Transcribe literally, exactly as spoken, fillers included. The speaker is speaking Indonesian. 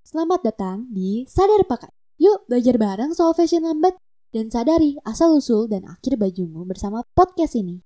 Selamat datang di Sadar Pakai. Yuk belajar bareng soal fashion lambat dan sadari asal-usul dan akhir bajumu bersama podcast ini.